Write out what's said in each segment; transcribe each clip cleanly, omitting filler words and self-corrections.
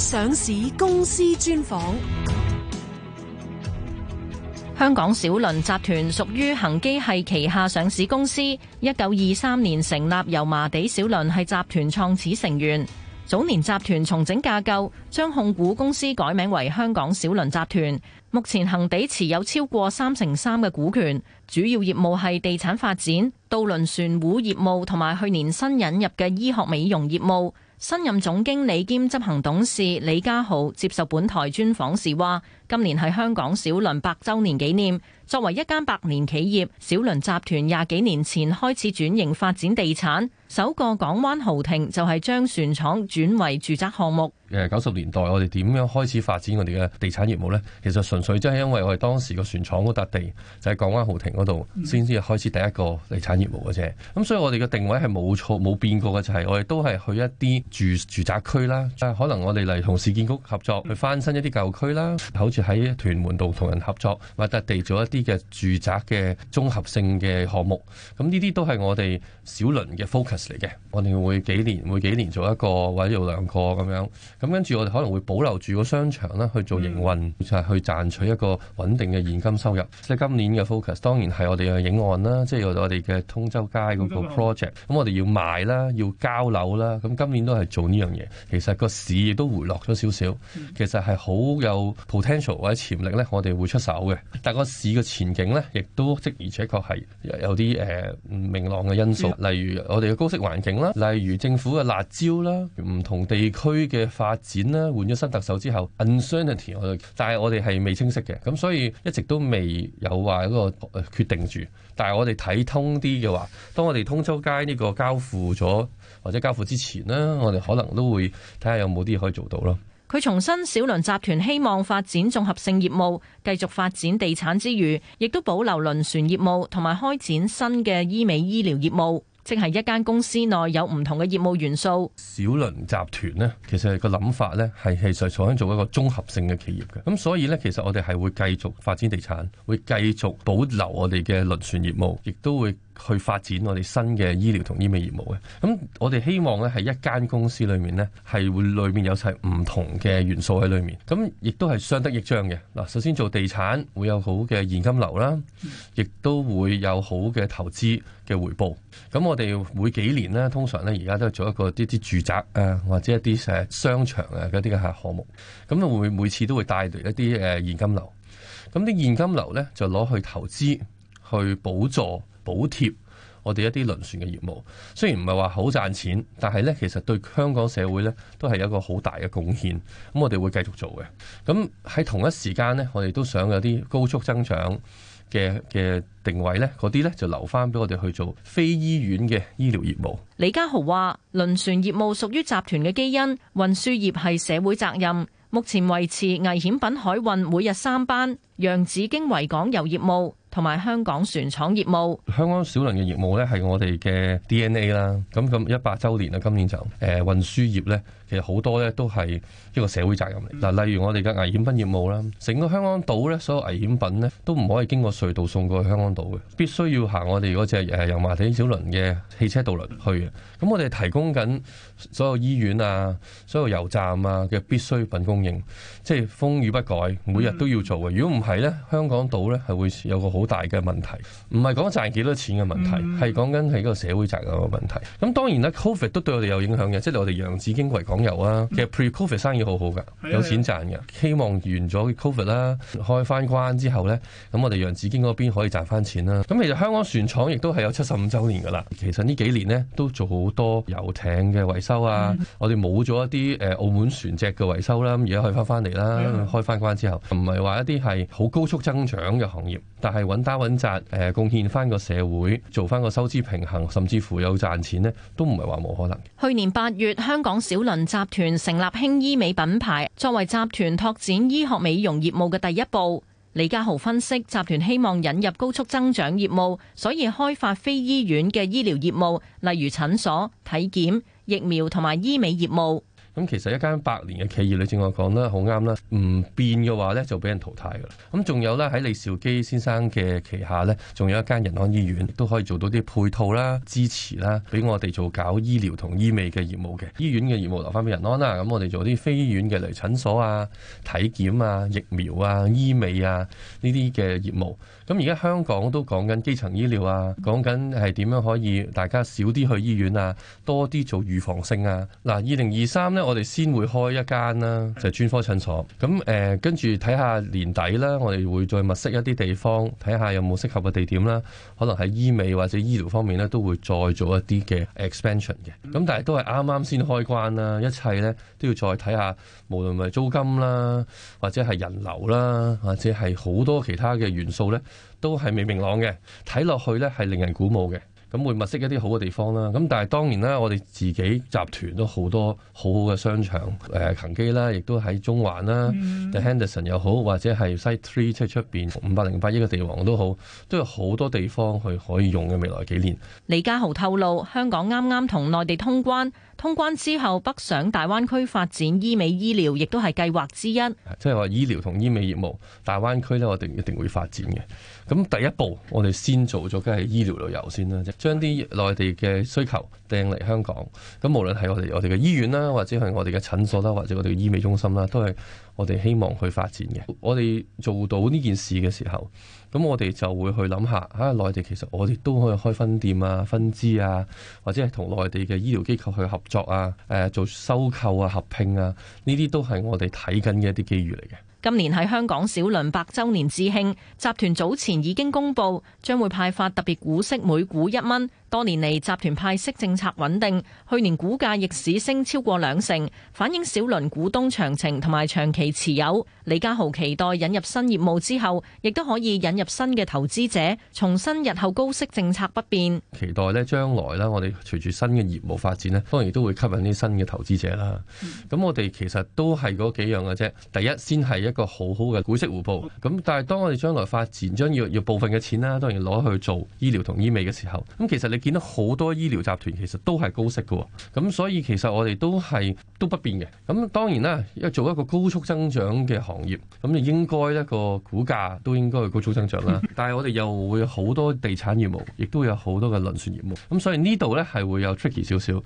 上市公司專訪。 香港小輪集團屬於恒基系旗下上市公司，1923年成立，油麻地小輪係集團創始成員。早年集團重整架構，將控股公司改名為香港小輪集團。目前恒地持有超過3%嘅股權，主要業務係地產發展、渡輪船塢業務同埋去年新引入嘅醫學美容業務。新任總經理兼執行董事李家豪接受本台專訪時話，今年係香港小輪100週年紀念。作為一間百年企業，小輪集團20幾年前開始轉型發展地產，首個港灣豪庭就係將船廠轉為住宅項目。 90年代我哋點樣開始發展我哋嘅地產業務呢？其實純粹真係因為我哋當時個船廠嗰笪地就喺港灣豪庭嗰度，先至開始第一個地產業務嘅啫。咁所以我哋嘅定位係冇錯冇變過嘅，就係我哋都係去一啲住宅區啦。可能我哋嚟同市建局合作去翻新一啲舊區啦，好似喺屯門度同人合作買笪地做一啲嘅住宅嘅綜合性嘅項目。咁呢啲都係我哋小輪嘅 focus 嚟嘅。我哋會每幾年做一個或者做兩個咁樣。咁跟住我哋可能會保留住個商場啦，去做營運，就係去賺取一個穩定嘅現金收入。即係今年嘅 focus 當然係我哋嘅影案啦，即係我哋嘅通州街嗰個 project。咁我哋要賣啦，要交樓啦。咁今年都係做呢樣嘢。其實個市亦都回落咗少少，其實係好有 potential 或者潛力咧，我哋會出手嘅。但個市嘅前景咧，亦都的而且確係有啲唔明朗嘅因素，例如我哋嘅高息環境啦，例如政府嘅辣椒啦，唔同地區嘅發展啦，換咗新特首之後 uncertainty， 但係我哋係未清晰嘅，咁所以一直都未有話一個決定住。但係我哋睇通啲嘅話，當我哋通州街呢個交付咗或者交付之前呢，我哋可能都會睇下有冇啲可以做到咯。 佢重申小輪集團希望發展綜合性業務，繼續發展地產之餘，亦都保留輪船業務同埋開展新嘅醫美醫療業務。即係一間公司內有唔同嘅業務元素。 小輪集團呢，其實個諗法呢係想做一個綜合性嘅企業嘅。咁所以呢，其實我哋係會繼續發展地產，會繼續保留我哋嘅輪船業務，亦都會去發展我哋新嘅醫療同醫美業務嘅。咁我哋希望呢係一間公司裏面呢，係會裏面有齊唔同嘅元素喺裏面。咁亦都係相得益彰嘅。嗱，首先做地產會有好嘅現金流啦，亦都會有好嘅投資嘅回報。咁我哋每幾年呢，通常呢而家都係做一個啲住宅啊，或者一啲商場啊嗰啲嘅項目。咁會每次都會帶嚟一啲現金流。咁啲現金流呢，就攞去投資，去補助補貼我哋一啲輪船嘅業務。雖然唔係話好賺錢，但係呢其實對香港社會呢都係有一個好大嘅貢獻。咁我哋會繼續做嘅。咁喺同一時間呢，我哋都想有啲高速增長嘅定位呢，嗰啲呢就留翻俾我哋去做非醫院嘅醫療業務。 李家豪話：輪船業務屬於集團嘅基因，運輸業係社會責任。目前維持危險品海運每日3班，洋紫荊維港遊業務同埋香港船廠業務。 香港小輪嘅業務呢係我哋嘅 DNA 啦。咁100週年啦，今年就運輸業呢，其實好多呢都係一個社會責任嚟。嗱，例如我哋嘅危險品業務啦，成個香港島呢，所有危險品呢都唔可以經過隧道送過去香港島嘅，必須要行我哋嗰隻油麻地小輪嘅汽車渡輪去嘅。咁我哋提供緊所有醫院啊、所有油站啊嘅必需品供應，即係風雨不改，每日都要做嘅。如果唔係呢，香港島呢係會有個好大嘅問題。唔係講賺幾多錢嘅問題，係講緊係一個社會責任嘅問題。咁當然啦 ，Covid 都對我哋有影響嘅，即係我哋洋紫荊維港遊啊，其實 Pre-Covid 生意好好㗎，有錢賺嘅。希望完咗 Covid 啦，開翻關之後呢，咁我哋洋紫荊嗰邊可以賺翻錢啦。咁其實香港船廠亦都係有75週年㗎啦。其實呢幾年呢，都做好多遊艇嘅維修啊，我哋冇咗一啲澳門船隻嘅維修啦，而家可以翻嚟啦，開翻關之後，唔係話一啲係好高速增長嘅行業，但係穩打穩紮貢獻翻個社會，做翻個收支平衡，甚至乎有賺錢呢，都唔係話冇可能。 去年8月，香港小輪集團成立輕醫美品牌，作為集團拓展醫學美容業務嘅第一步。李家豪分析，集團希望引入高速增長業務，所以開發非醫院嘅醫療業務，例如診所、體檢、疫苗同埋醫美業務。 咁其實一間100年嘅企業，你正話講得好啱啦，唔變嘅話咧就俾人淘汰㗎啦。咁仲有咧喺李兆基先生嘅旗下咧，仲有一間仁安醫院，都可以做到啲配套啦、支持啦，俾我哋做搞醫療同醫美嘅業務嘅。醫院嘅業務留翻俾仁安啦，咁我哋做啲非醫院嘅嚟診所啊、體檢啊、疫苗啊、醫美啊呢啲嘅業務。咁而家香港都講緊基層醫療啊，講緊係點樣可以大家少啲去醫院啊，多啲做預防性啊。嗱，2023呢，我哋先會開一間啦，就係專科診所。咁跟住睇下年底啦，我哋會再物色一啲地方，睇下有冇適合嘅地點啦。可能喺醫美或者醫療方面呢，都會再做一啲嘅 expansion 嘅。咁但係都係啱啱先開關啦，一切呢都要再睇下，無論係租金啦，或者係人流啦，或者係好多其他嘅元素呢，都係未明朗嘅，睇落去呢係令人鼓舞嘅。咁會物色一啲好嘅地方啦。咁但係當然啦，我哋自己集團都好多好好嘅商場，恒基啦，亦都喺中環啦，The Henderson 又好，或者係 Site 3即係出邊508億嘅地王都好，都有好多地方去可以用嘅未來幾年。 李家豪透露，香港啱啱同內地通關之後，北上大灣區發展醫美醫療，亦都係計劃之一。 即係話醫療同醫美業務，大灣區呢，我哋一定會發展嘅。咁第一步，我哋先做咗梗係醫療旅遊先啦，將啲內地嘅需求掟嚟香港。咁無論係我哋嘅醫院啦，或者係我哋嘅診所啦，或者我哋嘅醫美中心啦，都係我哋希望去發展嘅。我哋做到呢件事嘅時候，咁我哋就會去諗下，內地其實我哋都可以開分店啊、分支啊，或者係同內地嘅醫療機構去合作啊、做收購啊、合併啊，呢啲都係我哋睇緊嘅一啲機遇嚟嘅。 今年喺香港小輪100週年致慶，集團早前已經公布將會派發特別股息每股1蚊。多年嚟，集團派息政策穩定，去年股價逆市升超過2成，反映小輪股東長情同埋長期持有。李家豪期待引入新業務之後，亦都可以引入新嘅投資者，重申日後高息政策不變。 期待呢將來呢，我哋隨住新嘅業務發展呢，當然都會吸引啲新嘅投資者啦。咁我哋其實都係嗰幾樣嘅啫。第一，先係一個好好嘅股息回報。咁但係當我哋將來發展，將要部分嘅錢啦，當然攞去做醫療同醫美嘅時候，咁其實你見到好多醫療集團其實都係高息嘅。咁所以其實我哋都不變嘅。咁當然啦，做一個高速增長嘅行業，咁就應該一個股價都應該係高速增長啦。但係我哋又會有好多地產業務，亦都有好多嘅輪船業務。咁所以呢度呢係會有 tricky 少少。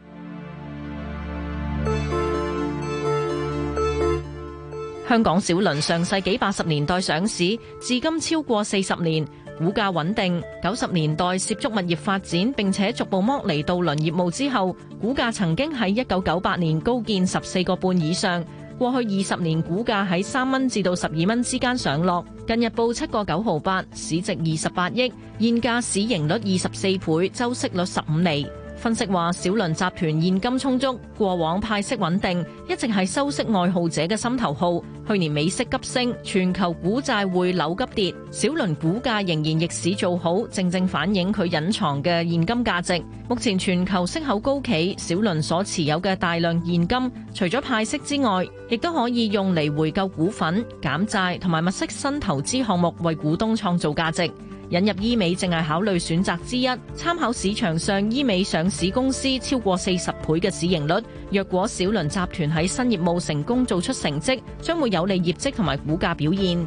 香港小輪上世紀80年代上市，至今超過40年，股價穩定。90年代涉足物業發展，並且逐步剝離渡輪業務之後，股價曾經喺1998年高見14個半以上。過去20年股價喺3蚊至到12蚊之間上落，近日報7個9毫8，市值28億，現價市盈率24倍，周息率15厘。分析話，小輪集團現金充足，過往派息穩定，一直係收息愛好者嘅心頭好。去年美息急升，全球股債匯樓急跌，小輪股價仍然逆市做好，正正反映佢隱藏嘅現金價值。目前全球息口高企，小輪所持有嘅大量現金，除咗派息之外，亦都可以用嚟回購股份、減債同埋物色新投資項目，為股東創造價值。引入醫美正係考慮選擇之一，參考市場上醫美上市公司超過40倍嘅市盈率。若果小輪集團喺新業務成功做出成績，將會有利業績同埋股價表現。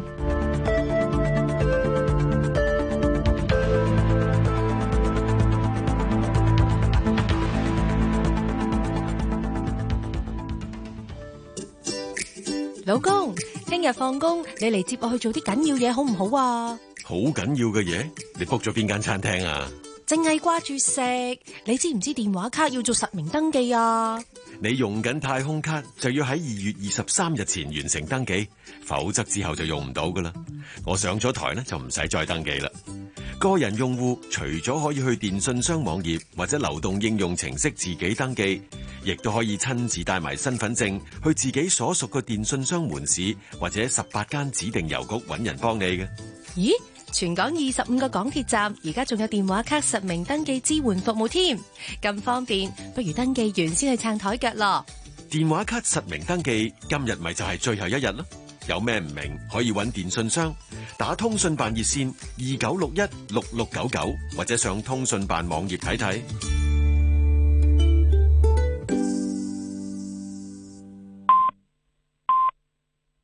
老公，聽日放工你嚟接我去做啲緊要嘢好唔好啊？ 好緊要嘅嘢，你 book 咗邊間餐廳啊？ 淨係掛住食，你知唔知電話卡要做實名登記啊？ 你用緊太空卡就要喺2月23日前完成登記，否則之後就用唔到噶啦。我上咗台呢，就唔使再登記啦。個人用戶除咗可以去電信商網頁或者流動應用程式自己登記，亦都可以親自帶埋身份證去自己所屬嘅電信商門市或者18間指定郵局揾人幫你嘅。 咦？全港25個港鐵站而家仲有電話卡實名登記支援服務添，咁方便，不如登記完先去撐台腳咯。 電話卡實名登記今日咪就係最後一日咯，有咩唔明可以揾電信商，打通訊辦熱線29616699，或者上通訊辦網頁睇睇。